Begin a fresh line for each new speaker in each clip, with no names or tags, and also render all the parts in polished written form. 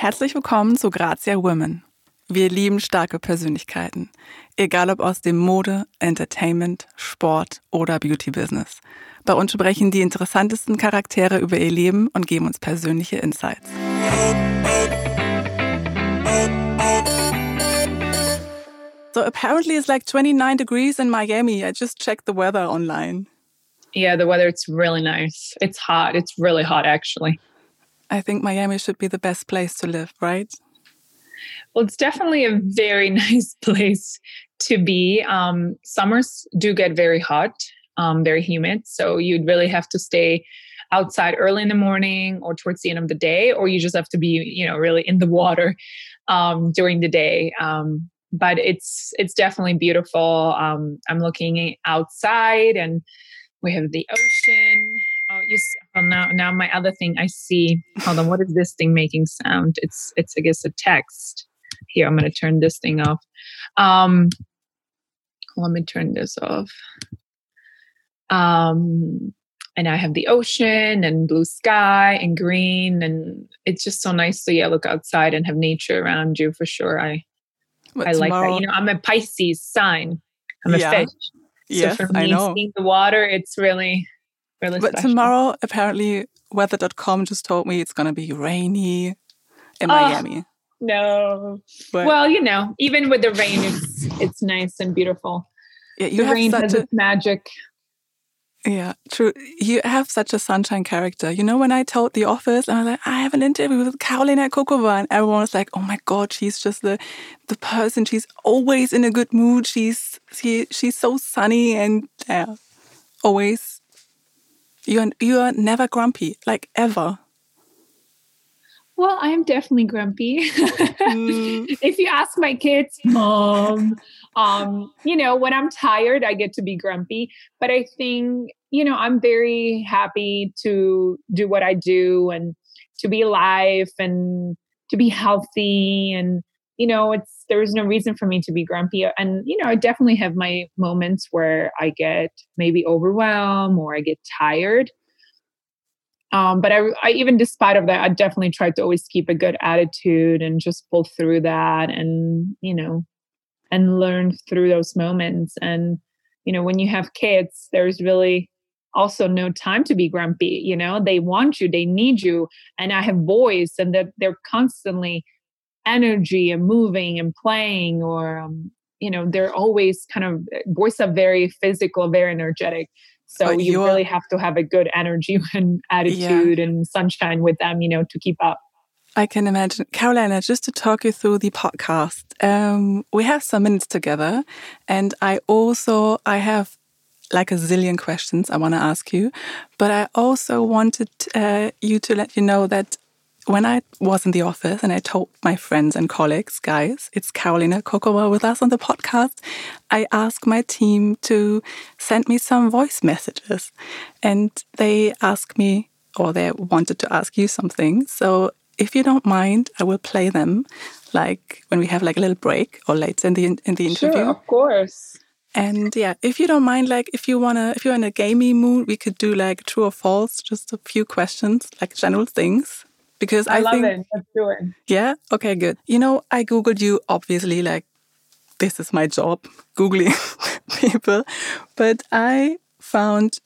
Herzlich willkommen zu Grazia Women. Wir lieben starke Persönlichkeiten, egal ob aus dem Mode, Entertainment, Sport oder Beauty-Business. Bei uns sprechen die interessantesten Charaktere über ihr Leben und geben uns persönliche Insights. So apparently it's like 29 degrees in Miami. I just checked the weather online.
Yeah, the weather, it's really nice. It's hot. It's really hot, actually.
I think Miami should be the best place to live, right?
Well, it's definitely a very nice place to be. Summers do get very hot, very humid. So you'd really have to stay outside early in the morning or towards the end of the day, or you just have to be, really in the water during the day. But it's definitely beautiful. I'm looking outside and we have the ocean. Now my other thing I see. Hold on, what is this thing making sound? It's I guess a text. Here, I'm going to turn this thing off. Let me turn this off. And I have the ocean and blue sky and green, and it's just so nice to look outside and have nature around you for sure. I like that. I'm a Pisces sign. I'm a fish.
Yes,
so for me,
I know.
Seeing the water, it's really
But
special.
tomorrow, apparently, weather.com just told me it's going to be rainy in Miami.
No.
But,
well, even with the rain, it's nice and beautiful.
Yeah, the
rain has its magic.
Yeah, true. You have such a sunshine character. When I told the office, I was like, I have an interview with Karolina Kokova, and everyone was like, oh my God, she's just the person. She's always in a good mood. She's so sunny and always. You are never grumpy, like ever.
Well, I am definitely grumpy. If you ask my kids, Mom, when I'm tired, I get to be grumpy. But I think, I'm very happy to do what I do and to be alive and to be healthy. And, there's no reason for me to be grumpy. And, I definitely have my moments where I get maybe overwhelmed or I get tired. But I even despite of that, I definitely try to always keep a good attitude and just pull through that and, and learn through those moments. And, when you have kids, there's really also no time to be grumpy. They want you, they need you. And I have boys and that they're constantly energy and moving and playing or, they're always boys are very physical, very energetic. So you really have to have a good energy and attitude and sunshine with them, to keep up.
I can imagine. Karolina, just to talk you through the podcast, we have some minutes together. And I have like a zillion questions I want to ask you. But I also wanted you to let you know that when I was in the office and I told my friends and colleagues, guys, it's Karolina Kokova with us on the podcast, I asked my team to send me some voice messages. And they asked me, or they wanted to ask you something. So if you don't mind, I will play them like when we have like a little break or later in the interview.
Sure, of course.
And if you don't mind, like if you're in a gamey mood, we could do like true or false, just a few questions, like general things. Because I
love
think,
it. Let's do it.
Yeah? Okay, good. I Googled you, obviously, like, this is my job, Googling people. But I found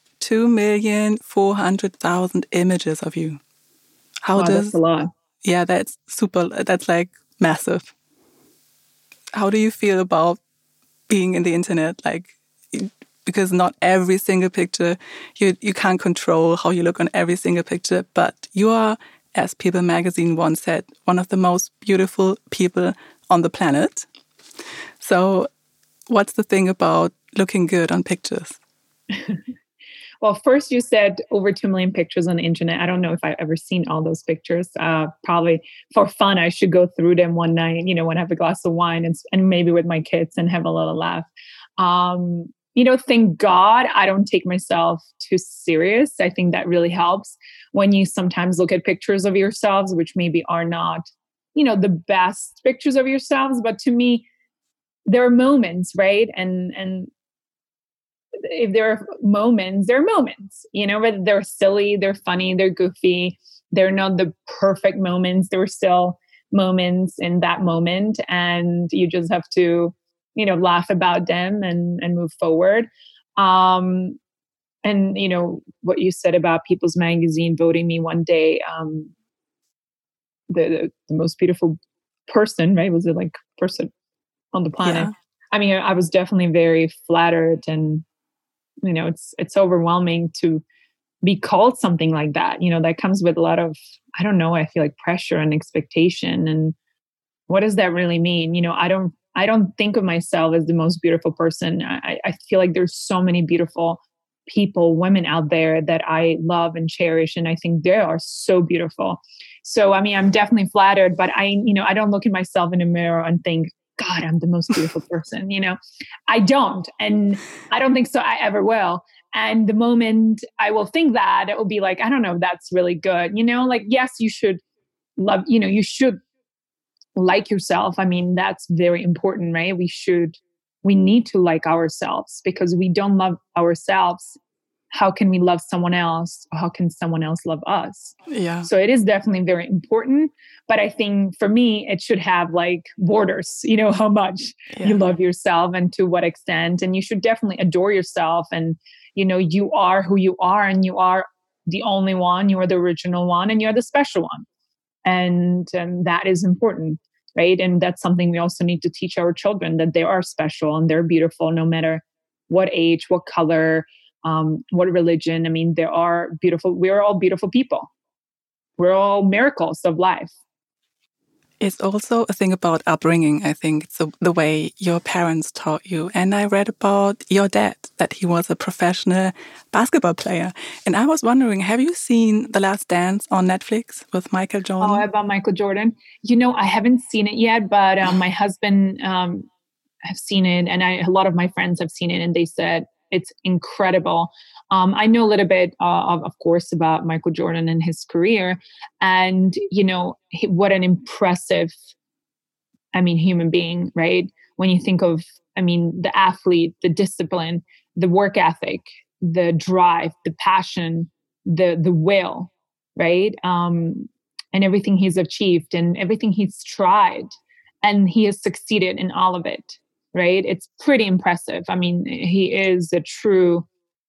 2,400,000 images of you.
That's a lot.
Yeah, that's super. That's like massive. How do you feel about being in the internet? Like, because not every single picture, you can't control how you look on every single picture, but you are, as People magazine once said, one of the most beautiful people on the planet. So what's the thing about looking good on pictures?
Well, first you said over 2 million pictures on the internet. I don't know if I've ever seen all those pictures. Probably for fun, I should go through them one night, when I have a glass of wine and maybe with my kids and have a little laugh. Thank God I don't take myself too serious. I think that really helps when you sometimes look at pictures of yourselves, which maybe are not, the best pictures of yourselves. But to me, there are moments, right? And if there are moments, whether they're silly, they're funny, they're goofy, they're not the perfect moments. They're still moments in that moment, and you just have to, laugh about them and move forward. And what you said about People's Magazine voting me one day, the most beautiful person, right? Was it like person on the planet?
Yeah.
I mean, I was definitely very flattered, and it's overwhelming to be called something like that. That comes with a lot of, I don't know, I feel like pressure and expectation. And what does that really mean? I don't think of myself as the most beautiful person. I feel like there's so many beautiful people, women out there that I love and cherish, and I think they are so beautiful. So I mean, I'm definitely flattered, but I don't look at myself in a mirror and think, God, I'm the most beautiful person. I don't, and I don't think so. I ever will. And the moment I will think that, it will be like, I don't know, that's really good. Like, yes, you should love, you should like yourself. I mean, that's very important, right? We need to like ourselves, because we don't love ourselves. How can we love someone else? Or how can someone else love us?
Yeah.
So it is definitely very important. But I think for me, it should have like borders, how much you love yourself and to what extent. And you should definitely adore yourself. And, you are who you are, and you are the only one, you are the original one, and you're the special one. And that is important, right? And that's something we also need to teach our children, that they are special and they're beautiful, no matter what age, what color, what religion. I mean, they are beautiful. We're all beautiful people. We're all miracles of life.
It's also a thing about upbringing, I think. It's the way your parents taught you. And I read about your dad, that he was a professional basketball player. And I was wondering, have you seen The Last Dance on Netflix with Michael Jordan?
Oh, about Michael Jordan? I haven't seen it yet, but my husband have seen it, and a lot of my friends have seen it, and they said it's incredible. I know a little bit, of course, about Michael Jordan and his career, and what an impressive, human being, right? When you think of, the athlete, the discipline, the work ethic, the drive, the passion, the will, right? And everything he's achieved and everything he's tried, and he has succeeded in all of it, right? It's pretty impressive. He is a true,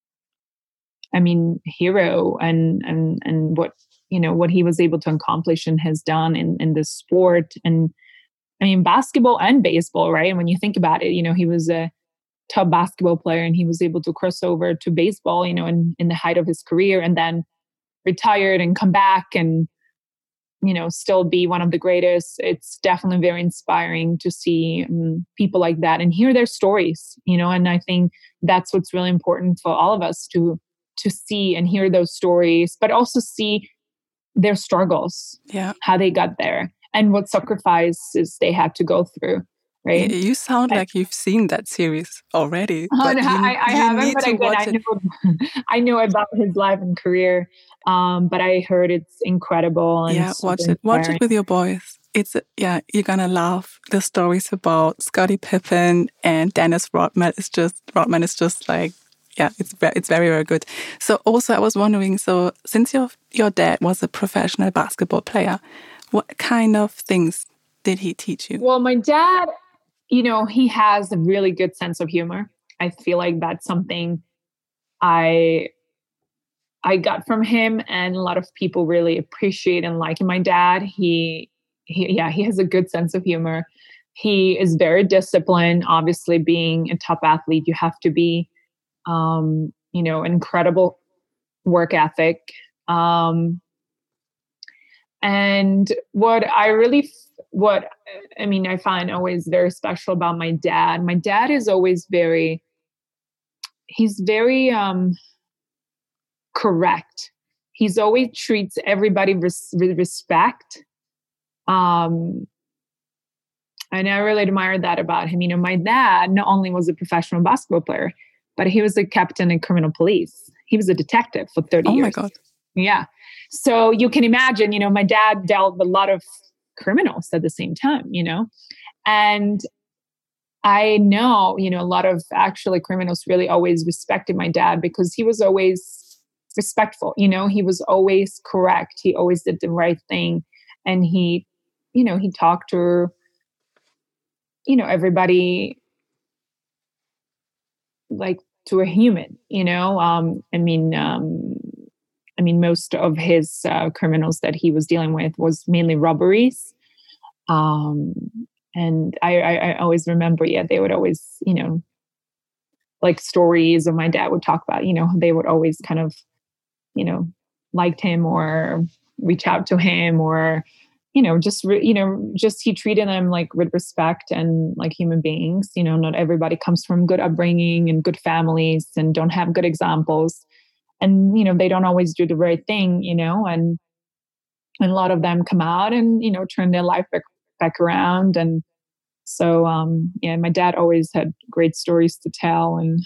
hero, and what he was able to accomplish and has done in this sport. And basketball and baseball, right? And when you think about it, he was a top basketball player, and he was able to cross over to baseball, in the height of his career, and then retired and come back and, still be one of the greatest. It's definitely very inspiring to see people like that and hear their stories, and I think that's what's really important for all of us to see and hear those stories, but also see their struggles, how they got there, and what sacrifices they had to go through, right?
You sound like you've seen that series already.
But I haven't, but again, I know about his life and career. But I heard it's incredible. And
watch it. Watch it with your boys. You're gonna laugh. The stories about Scottie Pippen and Dennis Rodman is just like, it's very, very good. So also I was wondering, so since your dad was a professional basketball player, what kind of things did he teach you?
Well, my dad, he has a really good sense of humor. I feel like that's something I got from him, and a lot of people really appreciate and like my dad. He has a good sense of humor. He is very disciplined. Obviously, being a top athlete, you have to be, incredible work ethic. And I find always very special about my dad is always he's very correct. He's always treats everybody with respect. And I really admire that about him. My dad not only was a professional basketball player, but he was a captain in criminal police. He was a detective for 30 years.
Oh my God.
Yeah. So you can imagine, my dad dealt with a lot of criminals at the same time, and I know, a lot of actually criminals really always respected my dad because he was always respectful. He was always correct. He always did the right thing. And he he talked to, everybody like to a human, most of his criminals that he was dealing with was mainly robberies. Um, and I always remember, they would always, like stories, or my dad would talk about, they would always kind of, liked him or reach out to him, or, just he treated them like with respect and like human beings. Not everybody comes from good upbringing and good families and don't have good examples. And, they don't always do the right thing, and a lot of them come out and, turn their life back around. And so, my dad always had great stories to tell. And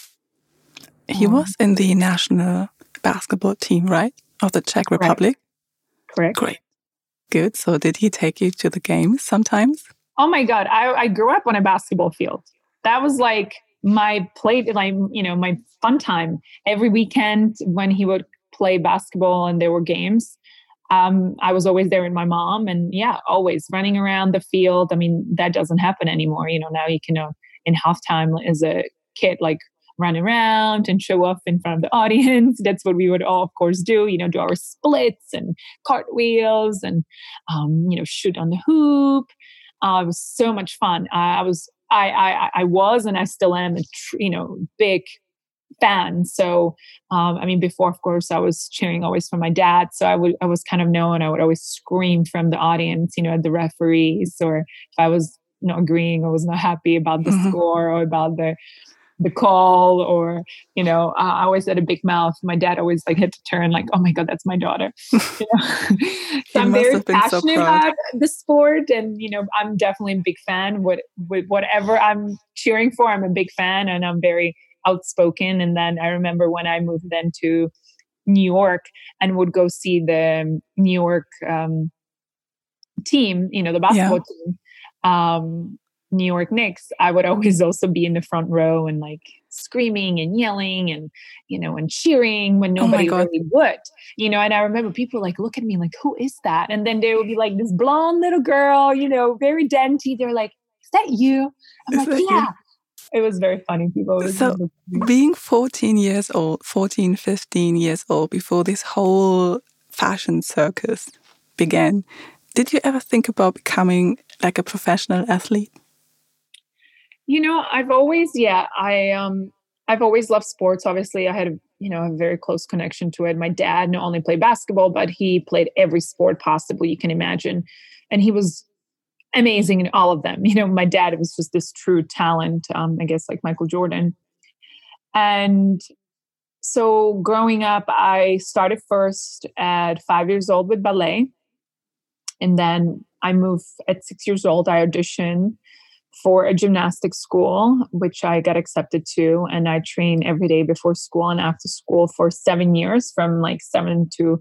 he was in the national basketball team, right? Of the Czech Republic?
Correct.
Great. Good. So did he take you to the games sometimes?
Oh my God. I grew up on a basketball field. That was like my my fun time. Every weekend when he would play basketball and there were games, I was always there with my mom, and always running around the field. I mean, that doesn't happen anymore. Now you can, in halftime as a kid, like run around and show off in front of the audience. That's what we would all, of course, do, do our splits and cartwheels and, shoot on the hoop. It was so much fun. I was, and I still am big fan. So, before, of course, I was cheering always for my dad. So I was kind of known. I would always scream from the audience, at the referees, or if I was not agreeing or was not happy about the score or about the call, or, I always had a big mouth. My dad always had to turn like, oh my God, that's my daughter. So I'm very passionate about the sport, and, I'm definitely a big fan with whatever I'm cheering for. I'm a big fan, and I'm very outspoken. And then I remember when I moved then to New York and would go see the New York team, the basketball team, New York Knicks, I would always also be in the front row and like screaming and yelling and, and cheering when nobody really would, and I remember people like look at me like, who is that? And then there would be like this blonde little girl, very dainty. They're like, is that you? I'm like, yeah. It was very funny. People.
So being 15 years old before this whole fashion circus began, did you ever think about becoming like a professional athlete?
I've always, I've always loved sports. Obviously, I had a very close connection to it. My dad not only played basketball, but he played every sport possible you can imagine. And he was amazing in all of them. My dad was just this true talent, I guess like Michael Jordan. And so growing up, I started first at 5 years old with ballet. And then I moved at 6 years old. I auditioned for a gymnastics school, which I got accepted to. And I trained every day before school and after school for 7 years, from like 7 to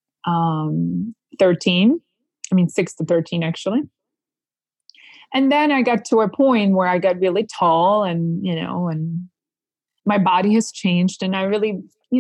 13. 6 to 13, actually. And then I got to a point where I got really tall and, and my body has changed. And I really,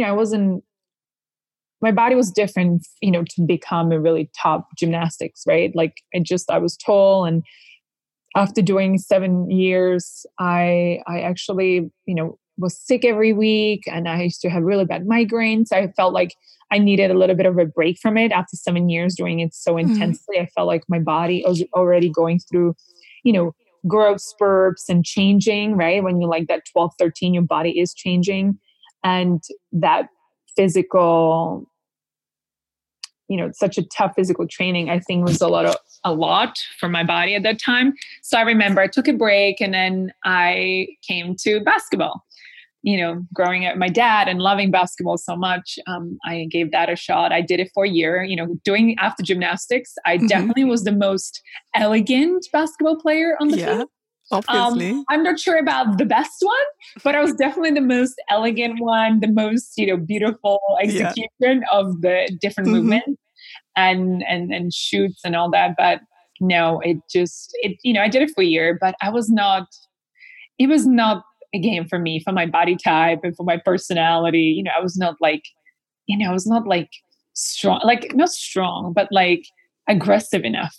my body was different, to become a really top gymnastics, right? Like I was tall, and after doing 7 years, I actually, was sick every week, and I used to have really bad migraines. I felt like I needed a little bit of a break from it after 7 years doing it so intensely. I felt like my body was already going through, growth spurts and changing, right? When you're like that 12, 13, your body is changing. And that physical, such a tough physical training, I think was a lot for my body at that time. So I remember I took a break, and then I came to basketball. Growing up with my dad and loving basketball so much, I gave that a shot. I did it for a year, doing after gymnastics. I definitely was the most elegant basketball player on the team.
Obviously.
I'm not sure about the best one, but I was definitely the most elegant one, the most, beautiful execution of the different movements and shoots and all that. But no, I did it for a year, but it was not a game for me, for my body type and for my personality. I was not like strong, like not strong, but like aggressive enough,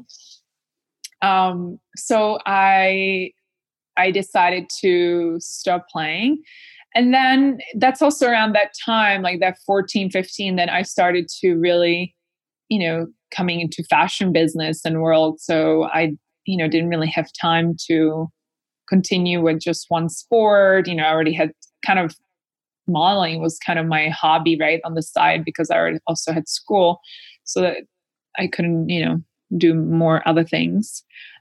So I decided to stop playing. And then that's also around that time, like that 14, 15, that I started to really, coming into fashion business and world. So I, didn't really have time to continue with just one sport. I already had kind of modeling was kind of my hobby, right, on the side, because I already also had school. So that I couldn't, do more other things.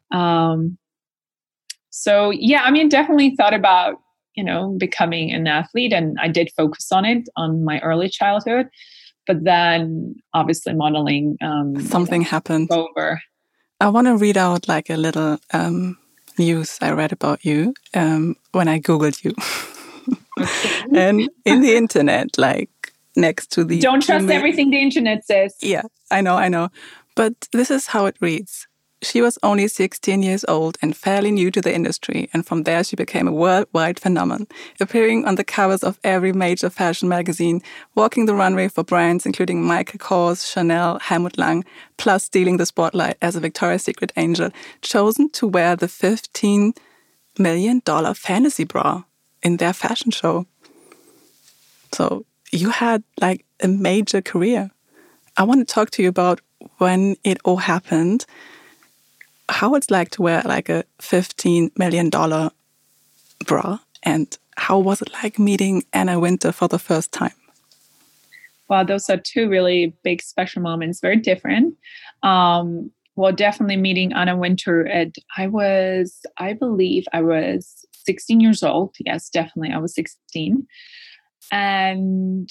So yeah, definitely thought about, becoming an athlete, and I did focus on it on my early childhood, but then obviously modeling,
something happened
over.
I want to read out like a little news I read about you when I Googled you.
Okay.
And in the internet, like next to the...
Don't trust everything the internet says.
Yeah, I know. But this is how it reads. She was only 16 years old and fairly new to the industry, and from there she became a worldwide phenomenon, appearing on the covers of every major fashion magazine, walking the runway for brands including Michael Kors, Chanel, Helmut Lang, plus stealing the spotlight as a Victoria's Secret angel, chosen to wear the $15 million fantasy bra in their fashion show. So you had like a major career. I want to talk to you about when it all happened, how it's like to wear like a $15 million bra, and how was it like meeting Anna Wintour for the first time?
Wow, those are two really big special moments, very different. Well, definitely meeting Anna Wintour I believe I was 16 years old. Yes, definitely. I was 16. And,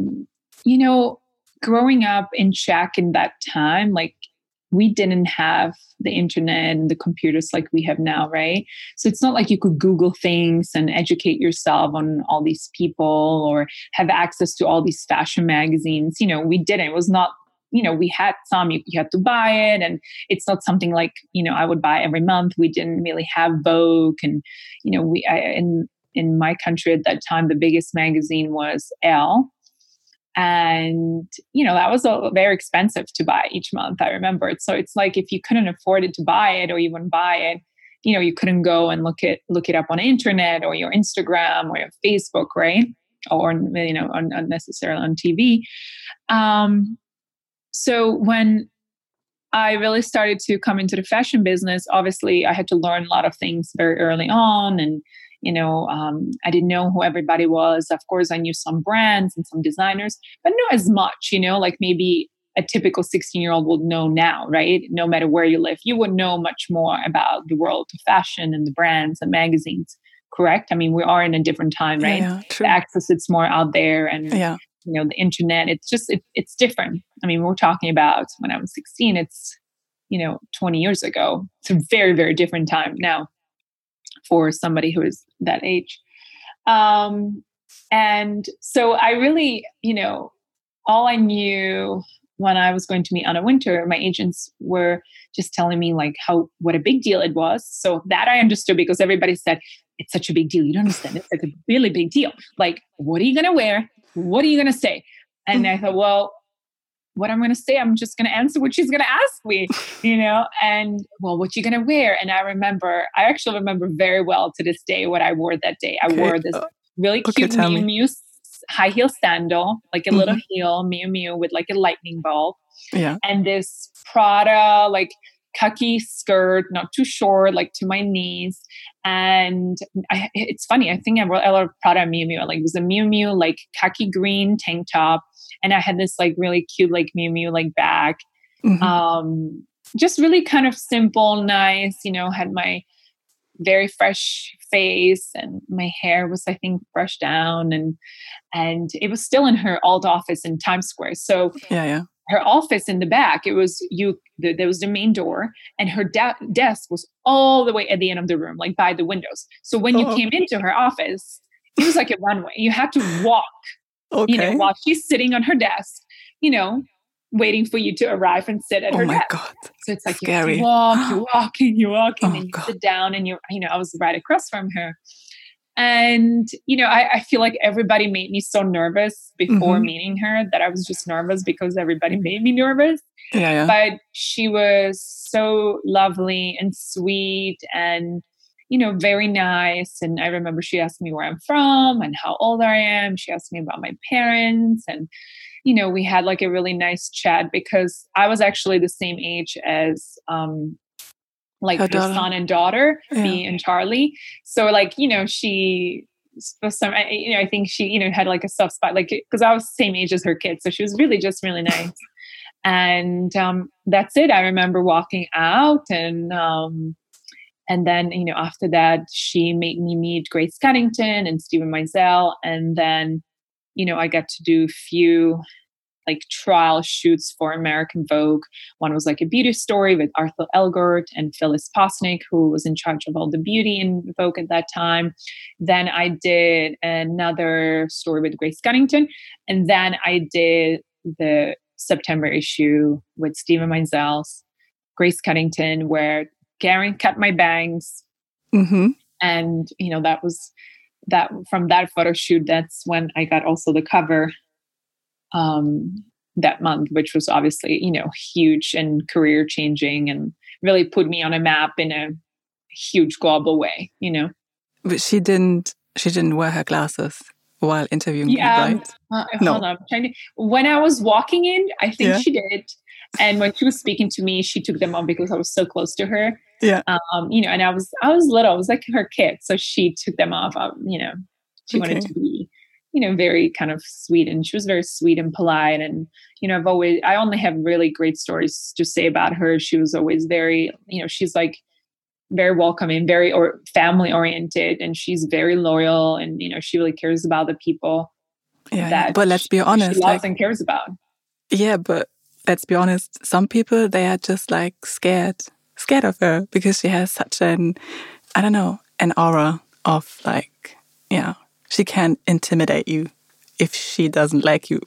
growing up in Czech in that time, like we didn't have the internet and the computers like we have now, right? So it's not like you could Google things and educate yourself on all these people or have access to all these fashion magazines. We didn't. It was not, we had some, you had to buy it. And it's not something like, I would buy every month. We didn't really have Vogue. And, in my country at that time, the biggest magazine was Elle. And, that was very expensive to buy each month. I remember it. So it's like, if you couldn't afford it to buy it or even buy it, you couldn't go and look it up on the internet or your Instagram or your Facebook, right? Or, unnecessarily on TV. So when I really started to come into the fashion business, obviously I had to learn a lot of things very early on. And I didn't know who everybody was. Of course, I knew some brands and some designers, but not as much, like maybe a typical 16-year-old would know now, right? No matter where you live, you would know much more about the world of fashion and the brands and magazines, correct? We are in a different time, right?
Yeah, true.
The access, it's more out there, and
the
internet, it's just, it's different. We're talking about when I was 16, it's, 20 years ago. It's a very, very different time now for somebody who is that age. And so I really, all I knew when I was going to meet Anna Wintour, my agents were just telling me like what a big deal it was. So that I understood, because everybody said, it's such a big deal. You don't understand. It's like a really big deal. Like, what are you going to wear? What are you going to say? And I thought, well, what I'm going to say, I'm just going to answer what she's going to ask me, and well, what you going to wear? And I actually remember very well to this day what I wore that day. I wore this really cute Miu Miu high heel sandal, like a little heel Miu Miu with like a lightning bolt.
Yeah.
And this Prada, like khaki skirt, not too short, like to my knees. And it's funny, I think I wore a lot of Prada Miu Miu. Like it was a Miu Miu, like khaki green tank top. And I had this like really cute, like Miu Miu, like bag. Just really kind of simple, nice, had my very fresh face, and my hair was, I think, brushed down, and it was still in her old office in Times Square. So her office in the back, it was there was the main door, and her desk was all the way at the end of the room, like by the windows. So when you came into her office, it was like a runway. You had to walk, while she's sitting on her desk, waiting for you to arrive and sit at her desk. Oh my God. So it's like you walk, and you sit down, and I was right across from her. And, I feel like everybody made me so nervous before meeting her that I was just nervous because everybody made me nervous.
Yeah.
But she was so lovely and sweet and, very nice. And I remember she asked me where I'm from and how old I am. She asked me about my parents. And, we had like a really nice chat because I was actually the same age as, like her son and daughter, me and Charlie. So like, she, for some, I think she, had like a soft spot, like, because I was the same age as her kids. So she was really just really nice. And that's it. I remember walking out and then, after that, she made me meet Grace Cunnington and Stephen Meisel. And then, I got to do a few like trial shoots for American Vogue. One was like a beauty story with Arthur Elgort and Phyllis Posnick, who was in charge of all the beauty in Vogue at that time. Then I did another story with Grace Cunnington. And then I did the September issue with Stephen Meisel, Grace Cunnington, where Karen cut my bangs. And, that was that from that photo shoot. That's when I got also the cover that month, which was obviously, huge and career changing and really put me on a map in a huge global way,
But she didn't wear her glasses while interviewing you, right?
No. Hold on. When I was walking in, I think she did. And when she was speaking to me, she took them off because I was so close to her.
Yeah.
And I was little. I was like her kid. So she took them off. She wanted to be very kind of sweet, and she was very sweet and polite. And, I only have really great stories to say about her. She was always very, she's like very welcoming, very family oriented, and she's very loyal. And, she really cares about the people
but let's be honest,
she loves and cares about.
Yeah, but let's be honest. Some people, they are just like scared of her because she has such an aura of like, she can intimidate you if she doesn't like you.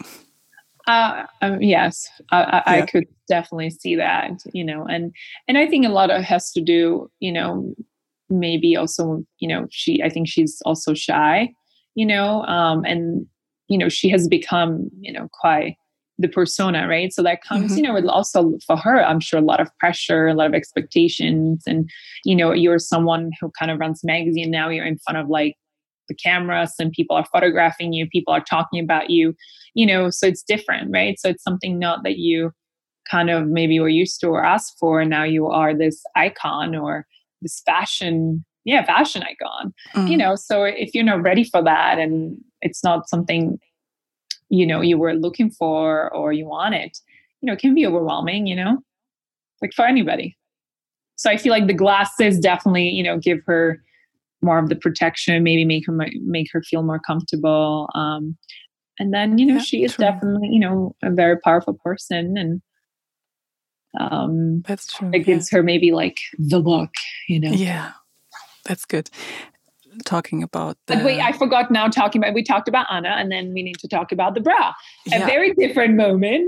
Yes, I could definitely see that, and I think a lot of it has to do, maybe also, I think she's also shy, and, she has become, quite the persona, right? So that comes, with also for her, I'm sure, a lot of pressure, a lot of expectations. And, you're someone who kind of runs a magazine. Now you're in front of like the cameras and people are photographing you, people are talking about you, so it's different, right? So it's something not that you kind of maybe were used to or asked for. And now you are this icon or this fashion icon, so if you're not ready for that and it's not something, you were looking for or you wanted, it can be overwhelming, like for anybody. So I feel like the glasses definitely, give her more of the protection, maybe make her feel more comfortable. And then, she is definitely, a very powerful person. And
that's true.
It gives her maybe like the look,
Yeah, that's good. Talking about
But wait, I forgot now we talked about Anna, and then we need to talk about the bra. A very different moment.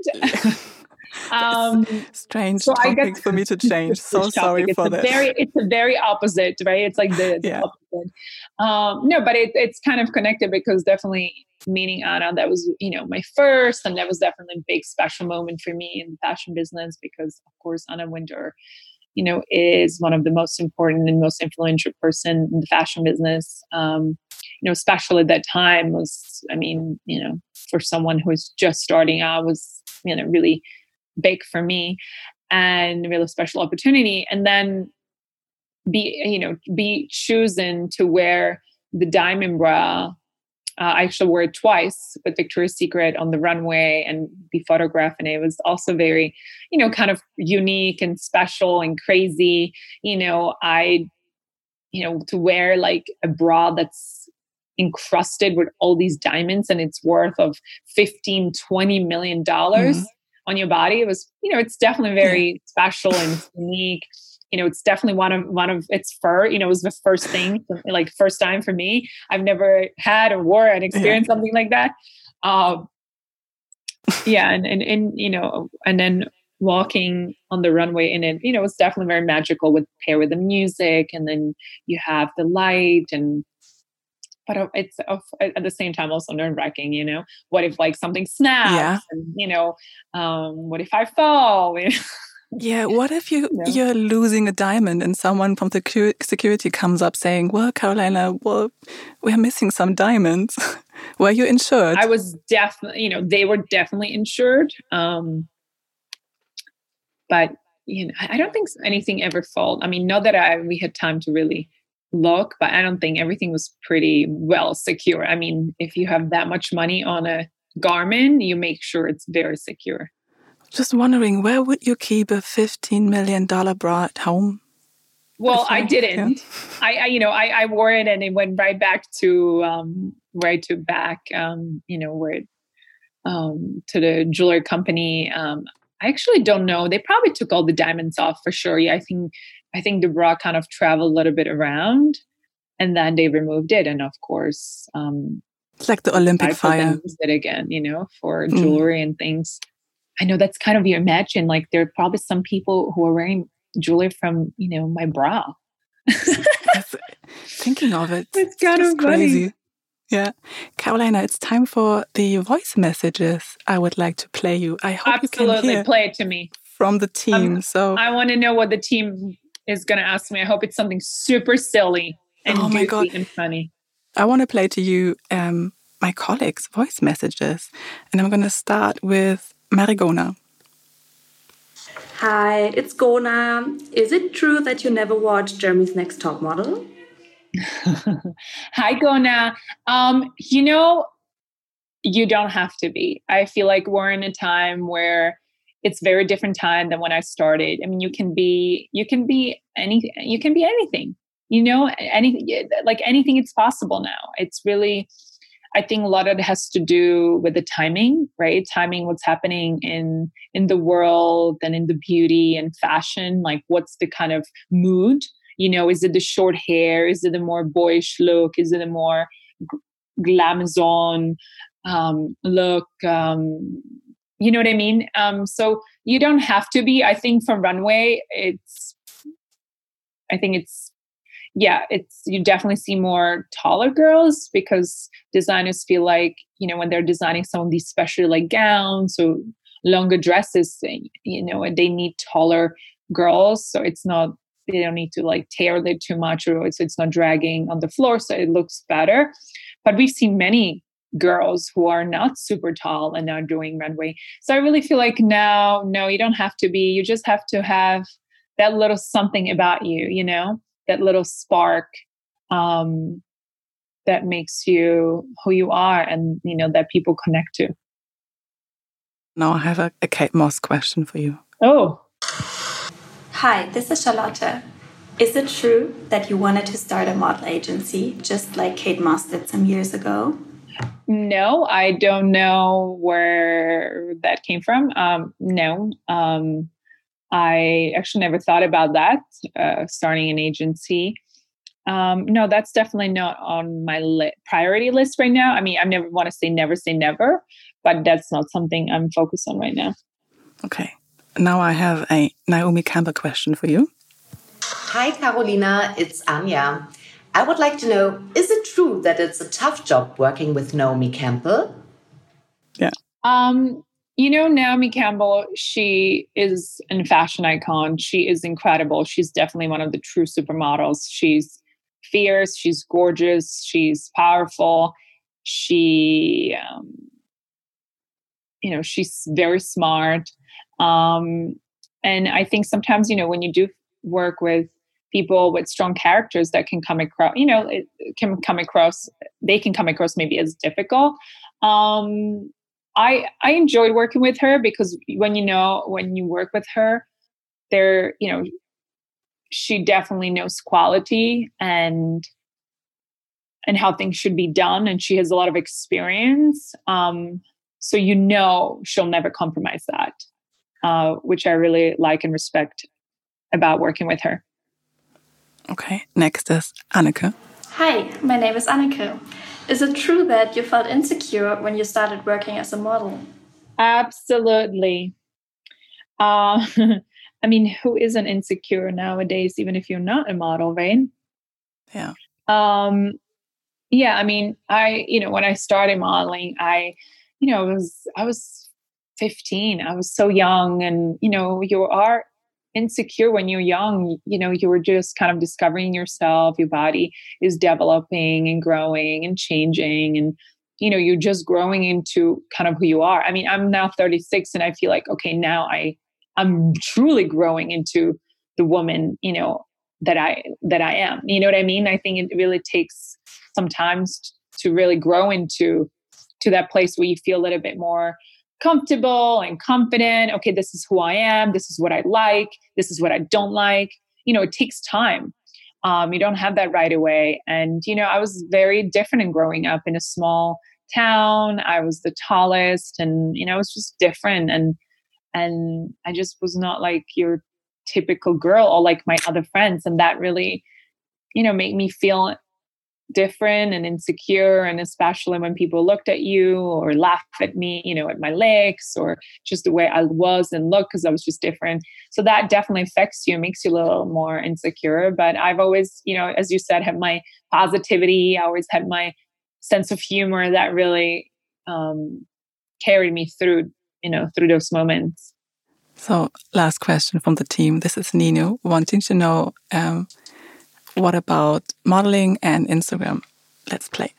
Strange topic for me to change. So sorry for that.
It's a very opposite, right? It's like the opposite. No, but it's kind of connected because definitely meeting Anna, that was, my first, and that was definitely a big special moment for me in the fashion business because, of course, Anna Wintour, is one of the most important and most influential person in the fashion business. Especially at that time was, for someone who was just starting out was, really big for me and really special opportunity. And then be chosen to wear the diamond bra. I actually wore it twice with Victoria's Secret on the runway and be photographed. And it was also very, kind of unique and special and crazy. To wear like a bra that's encrusted with all these diamonds and it's worth of $15-20 million on your body. It was, it's definitely very special and unique. It's definitely one of its fur, it was the first thing, like first time for me. I've never had or wore and experienced something like that. And then walking on the runway in it, it's definitely very magical with the music. And then you have the light and it's at the same time also nerve-wracking, what if like something snaps
Yeah.
and, what if I fall?
Yeah, what if you're losing a diamond and someone from the security comes up saying, well, Carolina, we're missing some diamonds. Were you insured?
I was definitely, they were definitely insured. But, I don't think anything ever failed. I mean, not that we had time to really look, but I don't think everything was pretty well secure. I mean, if you have that much money on a Garmin, you make sure it's very secure.
Just wondering, where would you keep a $15 million bra at home?
Well, I didn't. Yeah. I wore it and it went right back to where to the jewelry company. I actually don't know. They probably took all the diamonds off for sure. Yeah, I think the bra kind of traveled a little bit around, and then they removed it. And of course,
it's like the Olympic fire.
Used it again, for jewelry and things. I know that's kind of, you imagine, like there are probably some people who are wearing jewelry from, my bra.
Thinking of it,
it's kind of crazy.
Funny. Yeah. Carolina, it's time for the voice messages I would like to play you. I hope
Absolutely.
You can hear
play it to me.
From the team. So
I want to know what the team is going to ask me. I hope it's something super silly and goofy and funny.
I want to play to you my colleagues' voice messages. And I'm going to start with Marigona.
Hi, it's Gona. Is it true that you never watched Germany's Next Top Model?
Hi, Gona. You don't have to be. I feel like we're in a time where it's very different time than when I started. I mean, you can be anything. Anything it's possible now. It's really, I think a lot of it has to do with the timing, right? Timing what's happening in the world and in the beauty and fashion. Like, what's the kind of mood? Is it the short hair? Is it a more boyish look? Is it a more glamazon look? You know what I mean? So you don't have to be. I think from runway, you definitely see more taller girls because designers feel like, when they're designing some of these special like gowns or longer dresses, and they need taller girls. So they don't need to like tailor it too much, or it's not dragging on the floor. So it looks better. But we've seen many girls who are not super tall and now doing runway. So I really feel like no, you don't have to be. You just have to have that little something about you, that little spark that makes you who you are and, that people connect to.
Now I have a Kate Moss question for you.
Oh.
Hi, this is Charlotte. Is it true that you wanted to start a model agency just like Kate Moss did some years ago?
No, I don't know where that came from. No. I actually never thought about that, starting an agency. No, that's definitely not on my priority list right now. I mean, I never want to say never, but that's not something I'm focused on right now.
Okay. Now I have a Naomi Campbell question for you.
Hi, Carolina. It's Anja. I would like to know, is it true that it's a tough job working with Naomi Campbell?
Yeah.
Naomi Campbell, she is a fashion icon. She is incredible. She's definitely one of the true supermodels. She's fierce. She's gorgeous. She's powerful. She's very smart. And I think sometimes, when you do work with people with strong characters that can come across, they can come across maybe as difficult. I enjoyed working with her because when you work with her, she definitely knows quality and how things should be done, and she has a lot of experience. So she'll never compromise that, which I really like and respect about working with her.
Okay, next is Anneke.
Hi, my name is Anneke. Is it true that you felt insecure when you started working as a model?
Absolutely. I mean, who isn't insecure nowadays, even if you're not a model, right?
Yeah.
Yeah, I mean, when I started modeling, I was 15. I was so young, and you are insecure when you're young. You were just kind of discovering yourself. Your body is developing and growing and changing, and you're just growing into kind of who you are. I mean, I'm now 36, and I feel like, okay, now I'm truly growing into the woman, that I am. You know what I mean? I think it really takes sometimes to really grow into that place where you feel a little bit more comfortable and confident. Okay, this is who I am. This is what I like. This is what I don't like. It takes time. You don't have that right away. And, I was very different in growing up in a small town. I was the tallest, and, I was just different. And I just was not like your typical girl or like my other friends. And that really, made me feel different and insecure. And especially when people looked at you or laughed at me, at my legs or just the way I was and looked, because I was just different. So that definitely affects you, makes you a little more insecure. But I've always, as you said, had my positivity. I always had my sense of humor that really carried me through those moments.
So last question from the team. This is Nino wanting to know, what about modeling and Instagram? Let's play.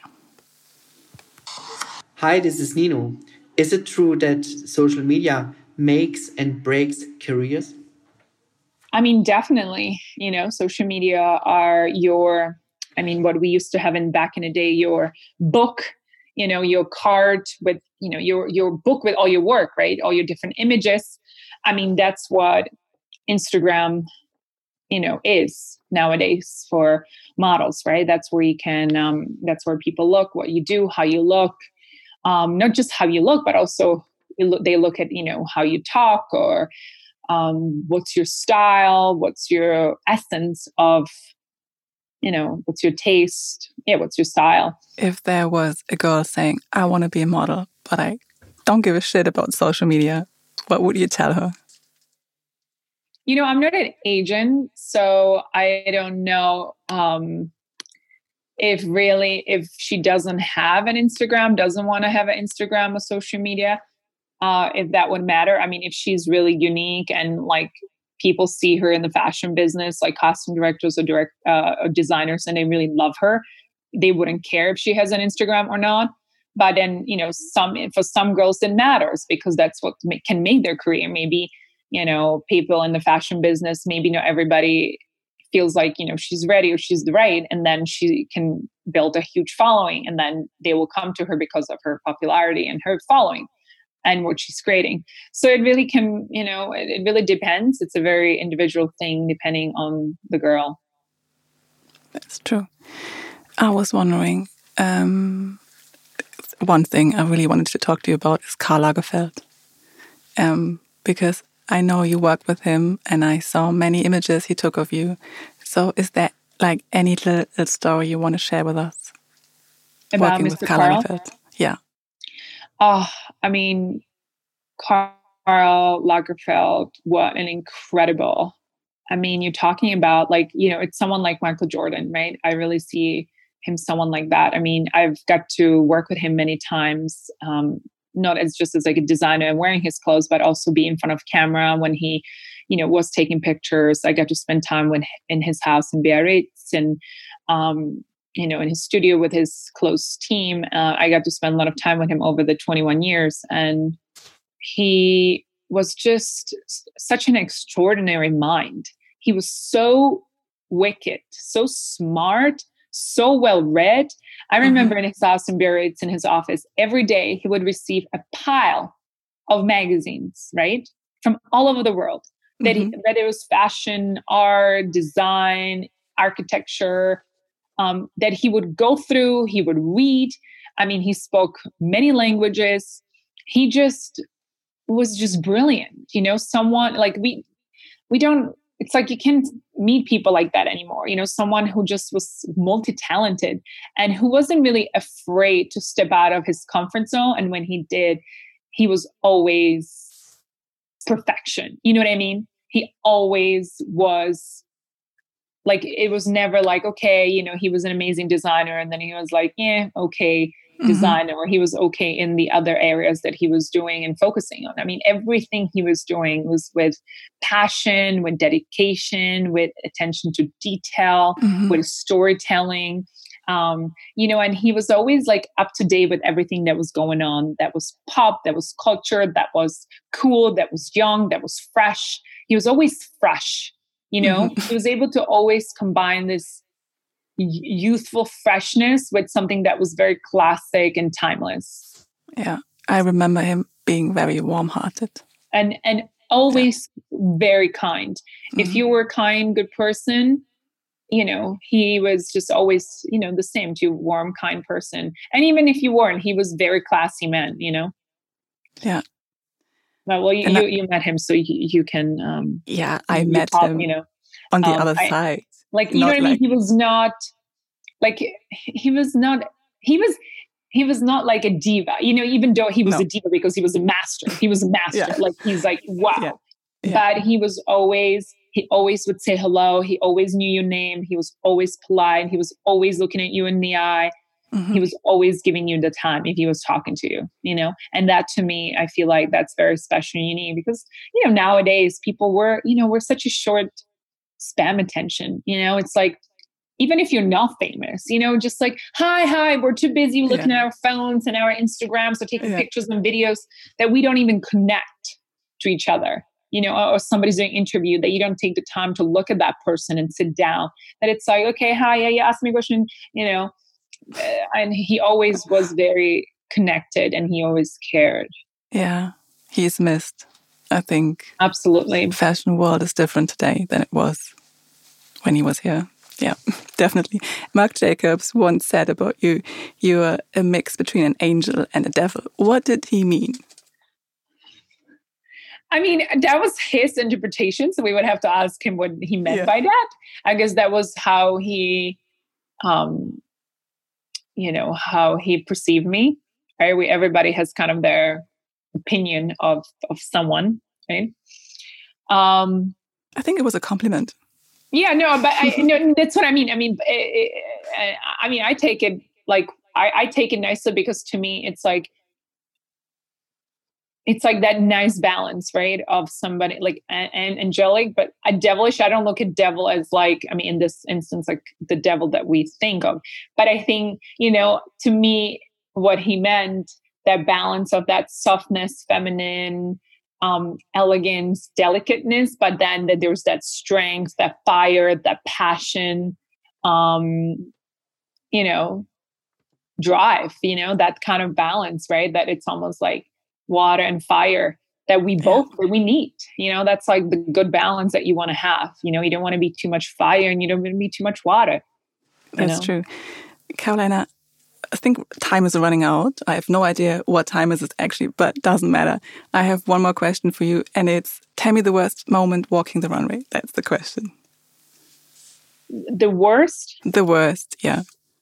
Hi, this is Nino. Is it true that social media makes and breaks careers?
I mean, definitely, social media are what we used to have back in the day, your book, your card with, your book with all your work, right? All your different images. I mean, that's what Instagram, is nowadays for models, right? That's where you can, that's where people look, what you do, how you look, not just how you look, but also they look at, how you talk, or what's your style, what's your essence of, what's your taste, what's your style.
If there was a girl saying, I want to be a model, but I don't give a shit about social media, what would you tell her?
I'm not an agent, so I don't know if she doesn't have an Instagram, doesn't want to have an Instagram or social media, if that would matter. I mean, if she's really unique and like people see her in the fashion business, like costume directors or designers, and they really love her, they wouldn't care if she has an Instagram or not. But then, for some girls it matters, because that's what can make their career. Maybe, people in the fashion business, maybe not everybody feels like, she's ready or she's right. And then she can build a huge following, and then they will come to her because of her popularity and her following and what she's creating. So it really can, it really depends. It's a very individual thing depending on the girl.
That's true. I was wondering, one thing I really wanted to talk to you about is Karl Lagerfeld. Because I know you worked with him and I saw many images he took of you. So is there like any little story you want to share with us?
About Mr. Karl?
Lagerfeld? Yeah.
Oh, I mean, Karl Lagerfeld, what an incredible, I mean, you're talking about like, it's someone like Michael Jordan, right? I really see him someone like that. I mean, I've got to work with him many times, not as just as like a designer and wearing his clothes, but also be in front of camera when he, was taking pictures. I got to spend time in his house in Biarritz, and, in his studio with his close team. I got to spend a lot of time with him over the 21 years. And he was just such an extraordinary mind. He was so wicked, so smart, so well read. I remember in his house in Biarritz, in his office, every day he would receive a pile of magazines, right? From all over the world. Whether it was fashion, art, design, architecture, that he would go through, he would read. I mean, he spoke many languages. He just was just brilliant. Someone like we don't, it's like you can't meet people like that anymore. Someone who just was multi-talented and who wasn't really afraid to step out of his comfort zone. And when he did, he was always perfection. You know what I mean? He always was Like it was never like, okay, he was an amazing designer and then he was like, yeah, okay designer, or he was okay in the other areas that he was doing and focusing on. I mean, everything he was doing was with passion, with dedication, with attention to detail, with storytelling. And he was always like up to date with everything that was going on, that was pop, that was culture, that was cool, that was young, that was fresh. He was always fresh, He was able to always combine this youthful freshness with something that was very classic and timeless.
Yeah, I remember him being very warm-hearted.
And always very kind. If you were a kind, good person, he was just always, the same to warm, kind person. And even if you weren't, he was very classy man,
Yeah.
Well, you met him, so you can.
I met him. On the other side.
Like, you know what I mean? He was not like, he was not like a diva, even though he was a diva because he was a master. He was a master.
Yeah.
Like, he's like, wow.
Yeah.
But he always would say hello. He always knew your name. He was always polite. He was always looking at you in the eye. He was always giving you the time if he was talking to you, and that to me, I feel like that's very special and unique because, nowadays people we're such a short spam attention, it's like, even if you're not famous, just like, hi, we're too busy looking at our phones and our Instagrams or taking pictures and videos that we don't even connect to each other, or somebody's doing an interview that you don't take the time to look at that person and sit down, that it's like, okay, hi, yeah, you asked me a question, and he always was very connected and he always cared.
Yeah, he's missed. I think
absolutely
the fashion world is different today than it was when he was here. Yeah, definitely. Marc Jacobs once said about you, you are a mix between an angel and a devil. What did he mean?
I mean, that was his interpretation, so we would have to ask him what he meant by that. I guess that was how he, how he perceived me. Right? Everybody has kind of their opinion of someone, right?
I think it was a compliment.
Yeah, no, but that's what I mean. I mean, I take it like I take it nicely because to me, it's like that nice balance, right? Of somebody like and angelic, but a devilish. I don't look at devil as like, I mean, in this instance, like the devil that we think of. But I think, to me, what he meant, that balance of that softness, feminine, elegance, delicateness, but then that there's that strength, that fire, that passion, drive, that kind of balance, right? That it's almost like water and fire that we need, that's like the good balance that you want to have. You don't want to be too much fire and you don't want to be too much water.
That's true. Carolina, I think time is running out. I have no idea what time is it actually, but doesn't matter. I have one more question for you, and it's, tell me the worst moment walking the runway. That's the question.
The worst?
The worst, yeah.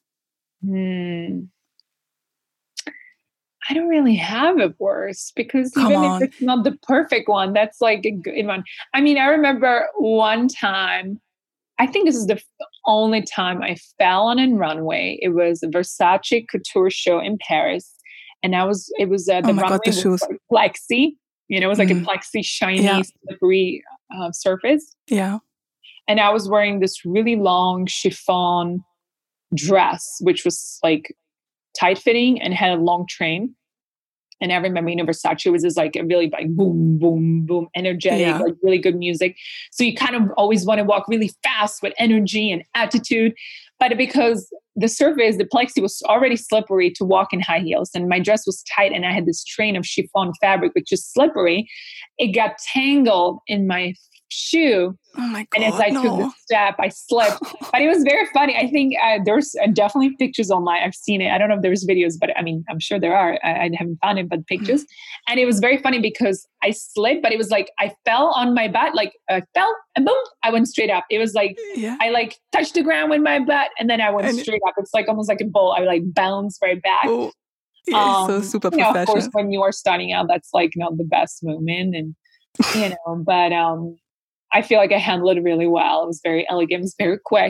I don't really have a worst because even if it's not the perfect one, that's like a good one. I mean, I remember one time, I think this is the only time I fell on a runway. It was a Versace couture show in Paris. And the runway was like plexi, it was like a plexi, shiny, slippery surface.
Yeah.
And I was wearing this really long chiffon dress, which was like tight fitting and had a long train. And I remember, Versace was just like a really like boom, boom, boom, energetic, like really good music. So you kind of always want to walk really fast with energy and attitude. But because the surface, the plexi was already slippery to walk in high heels and my dress was tight and I had this train of chiffon fabric, which is slippery, it got tangled in my shoe.
Oh my God,
and as I took the step, I slipped. But it was very funny. I think there's definitely pictures online. I've seen it. I don't know if there's videos, but I mean, I'm sure there are. I haven't found it, but pictures. And it was very funny because I slipped, but it was like I fell on my butt, like I fell and boom, I went straight up. It was like I like touched the ground with my butt and then I went straight up. It's like almost like a bowl. I like bounced right back.
Oh, yeah, so super professional.
Of course, when you are starting out, that's like not the best moment, and but I feel like I handled it really well. It was very elegant. It was very quick.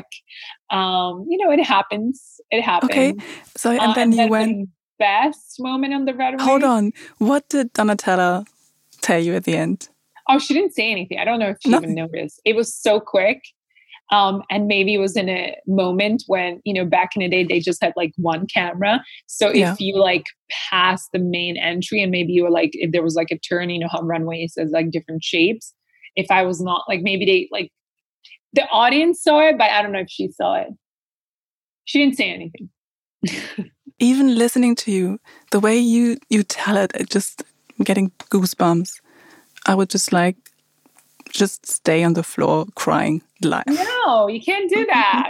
It happens. It happens.
Okay. So, and then you went...
The best moment on the runway.
Hold on. What did Donatella tell you at the end?
Oh, she didn't say anything. I don't know if she even noticed. It was so quick. And maybe it was in a moment when, back in the day, they just had like one camera. So if you like passed the main entry and maybe you were like, if there was like a turn, how runways has like different shapes. If I was not like, maybe they like, the audience saw it, but I don't know if she saw it. She didn't say anything.
Even listening to you, the way you tell it, just getting goosebumps. I would just stay on the floor crying live.
No, you can't do that.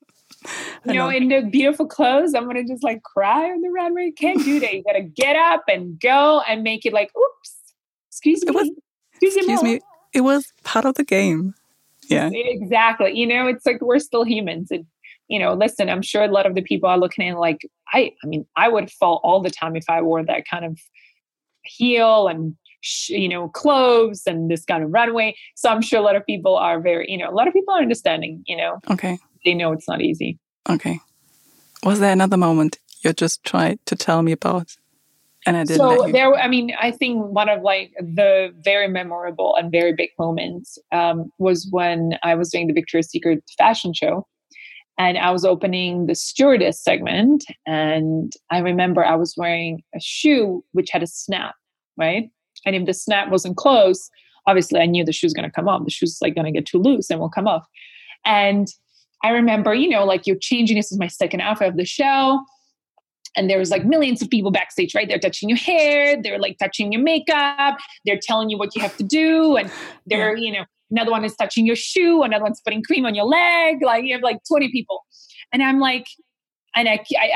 In the beautiful clothes, I'm going to just like cry on the runway. You can't do that. You got to get up and go and make it like, oops, excuse me.
It was part of the game. Yeah,
exactly. It's like we're still humans. And, listen, I'm sure a lot of the people are looking at like, I would fall all the time if I wore that kind of heel and clothes and this kind of runway. So I'm sure a lot of people are a lot of people are understanding,
Okay.
They know it's not easy.
Okay. Was there another moment you just tried to tell me about? And I didn't.
So I think one of like the very memorable and very big moments was when I was doing the Victoria's Secret fashion show and I was opening the stewardess segment. And I remember I was wearing a shoe which had a snap, right? And if the snap wasn't closed, obviously I knew the shoe's going to come off. The shoe's like going to get too loose and will come off. And I remember, like you're changing. This is my second outfit of the show. And there was like millions of people backstage, right? They're touching your hair. They're like touching your makeup. They're telling you what you have to do. And they're, another one is touching your shoe. Another one's putting cream on your leg. Like you have like 20 people. And I'm like, I'm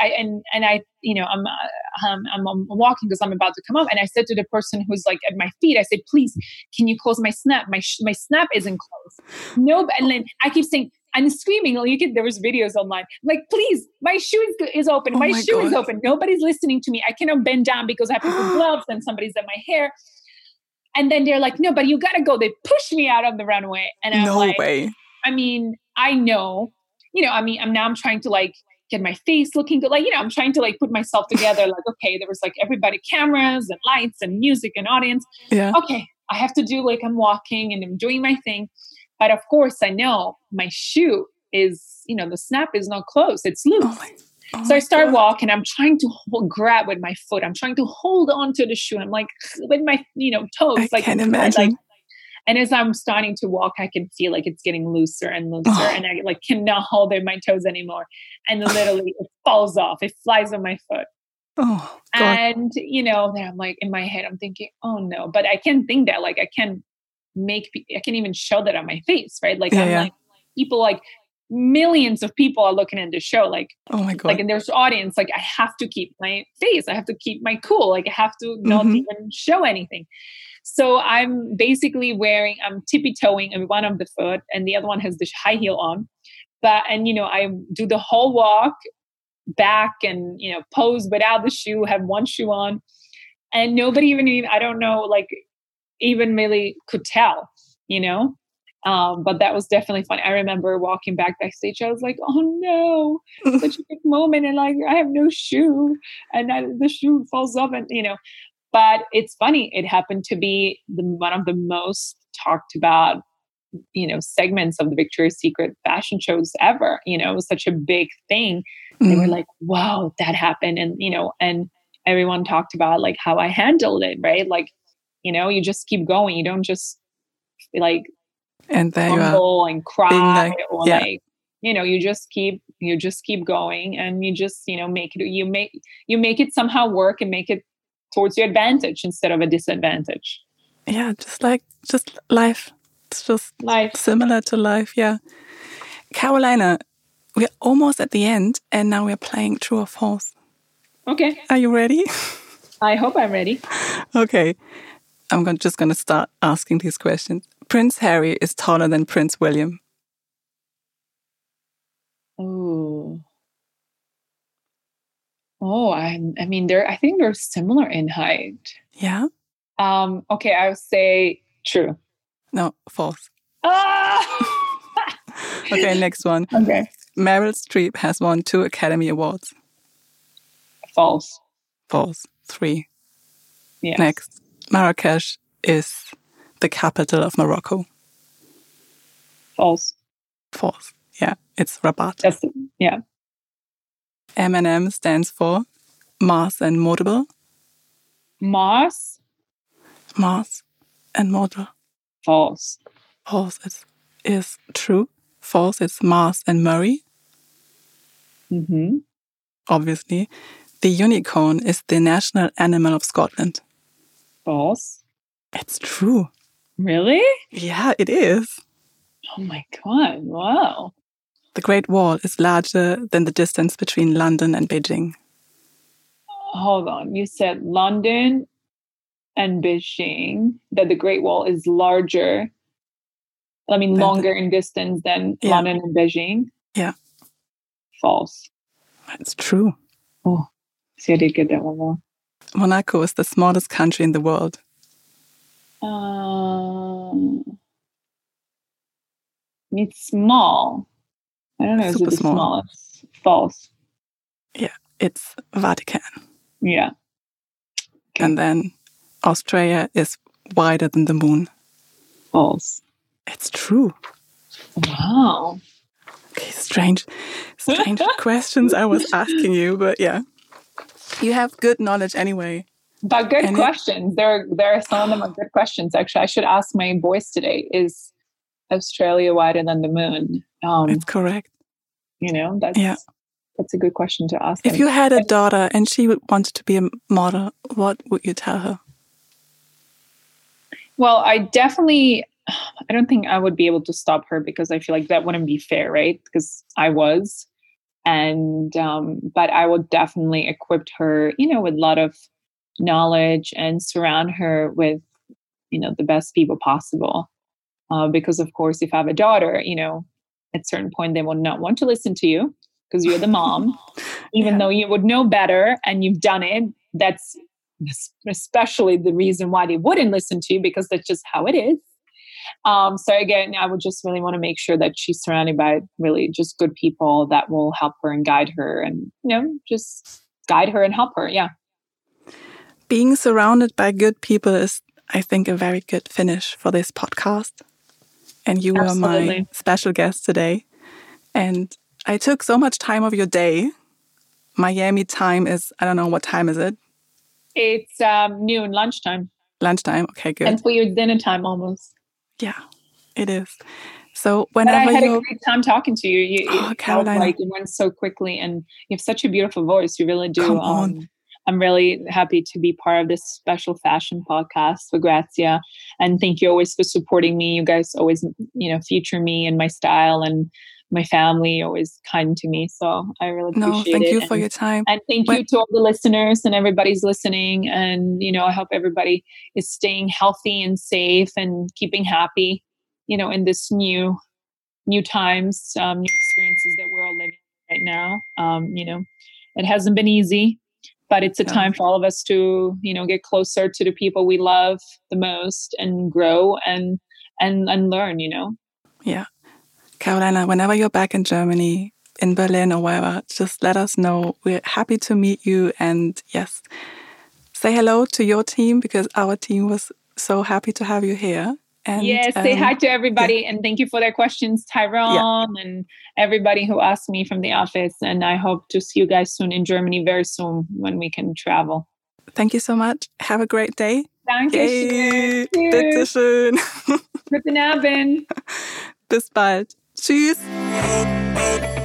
walking because I'm about to come up. And I said to the person who's like at my feet, I said, please, can you close my snap? My snap isn't closed. No. And then I keep saying, I'm screaming. There was videos online. Like, please, my shoe is open. My shoe is open. Nobody's listening to me. I cannot bend down because I have to put gloves and somebody's at my hair. And then they're like, no, but you got to go. They push me out of the runway. And I'm
no way.
I know, I'm trying to like get my face looking good. Like, I'm trying to like put myself together. Like, okay, there was like everybody, cameras and lights and music and audience.
Yeah.
Okay, I have to do like I'm walking and I'm doing my thing. But of course, I know my shoe is, the snap is not closed. It's loose. So I start walking. I'm trying to grab with my foot. I'm trying to hold on to the shoe. I'm like with my, toes.
I can't imagine.
And as I'm starting to walk, I can feel like it's getting looser and looser. And I like cannot hold in my toes anymore. And literally it falls off. It flies on my foot.
Oh, God.
And, then I'm like in my head, I'm thinking, oh no, but I can't think that. Like I can't even show that on my face, right? Like like people, like millions of people are looking at the show. Like, oh my God. Like, and there's audience. Like I have to keep my face. I have to keep my cool. Like I have to not even show anything. So I'm basically I'm tippy-toeing on one of the foot and the other one has the high heel on. I do the whole walk back and, pose without the shoe, have one shoe on. And nobody even I don't know, like even really could tell, but that was definitely fun. I remember walking backstage. I was like, oh no, such a big moment. And like, I have no shoe and the shoe falls off and, but it's funny. It happened to be one of the most talked about, segments of the Victoria's Secret fashion shows ever. It was such a big thing. They were like, wow, that happened. And, and everyone talked about like how I handled it, right? Like, you just keep going. You don't just like
and there
humble and cry or like, you just keep going and you just, make it somehow work and make it towards your advantage instead of a disadvantage.
Yeah. Just life. It's just life. Similar to life. Yeah. Carolina, we're almost at the end and now we're playing true or false.
Okay.
Are you ready?
I hope I'm ready.
Okay. I'm just going to start asking these questions. Prince Harry is taller than Prince William.
Oh, I think they're similar in height.
Yeah.
Okay, I would say true.
No, false. Okay, next one.
Okay.
Meryl Streep has won 2 Academy Awards.
False.
False. 3.
Yes.
Next. Marrakesh is the capital of Morocco.
False.
False. Yeah, it's Rabat.
Yeah.
M&M stands for Mars and Modable.
Mars.
Mars and Model.
False.
False is true. False is Mars and Murray.
Mm-hmm.
Obviously. The unicorn is the national animal of Scotland.
False.
It's true.
Really?
Yeah, it is.
Oh my God. Wow.
The Great Wall is larger than the distance between London and Beijing.
Hold on. You said London and Beijing, that the Great Wall is larger. I mean, longer in distance than London and Beijing.
Yeah.
False.
It's true.
Oh, see, I did get that one wrong.
Monaco is the smallest country in the world.
It's small. I don't know. Is it the smallest? False.
Yeah, it's Vatican.
Yeah.
Okay. And then Australia is wider than the moon.
False.
It's true.
Wow.
Okay, strange questions I was asking you, but yeah. You have good knowledge anyway.
But good questions. There are some of them are good questions. Actually, I should ask my boys today, is Australia wider than the moon?
It's correct.
That's a good question to ask.
If you had a daughter and she wanted to be a model, what would you tell her?
Well, I don't think I would be able to stop her, because I feel like that wouldn't be fair, right? Because I was. And, but I would definitely equip her, with a lot of knowledge and surround her with, the best people possible. Because of course, if I have a daughter, at a certain point, they will not want to listen to you because you're the mom, even though you would know better and you've done it. That's especially the reason why they wouldn't listen to you, because that's just how it is. So again, I would just really want to make sure that she's surrounded by really just good people that will help her and guide her, and, just guide her and help her. Yeah.
Being surrounded by good people is, I think, a very good finish for this podcast. And you were my special guest today. And I took so much time of your day. Miami time is, I don't know, what time is it?
It's noon, lunchtime.
Lunchtime, okay, good.
And for your dinner time almost.
Yeah, it is. So whenever
I had a great time talking to you.
Carolina.
It went so quickly, and you have such a beautiful voice. You really do.
Come on.
I'm really happy to be part of this special fashion podcast for Grazia. And thank you always for supporting me. You guys always, feature me and my style, and my family always kind to me. So I really appreciate it.
Thank you for your time.
And thank you to all the listeners and everybody's listening. And, I hope everybody is staying healthy and safe and keeping happy, in this new times, new experiences that we're all living right now. It hasn't been easy, but it's a time for all of us to, get closer to the people we love the most and grow and learn,
Yeah. Carolina, whenever you're back in Germany, in Berlin or wherever, just let us know. We're happy to meet you. And yes, say hello to your team, because our team was so happy to have you here. And,
yes, say hi to everybody. And thank you for their questions, Tyrone, and everybody who asked me from the office. And I hope to see you guys soon in Germany, very soon, when we can travel.
Thank you so much. Have a great day.
Dankeschön.
Bitteschön.
Guten Abend.
Bis bald. Tschüss.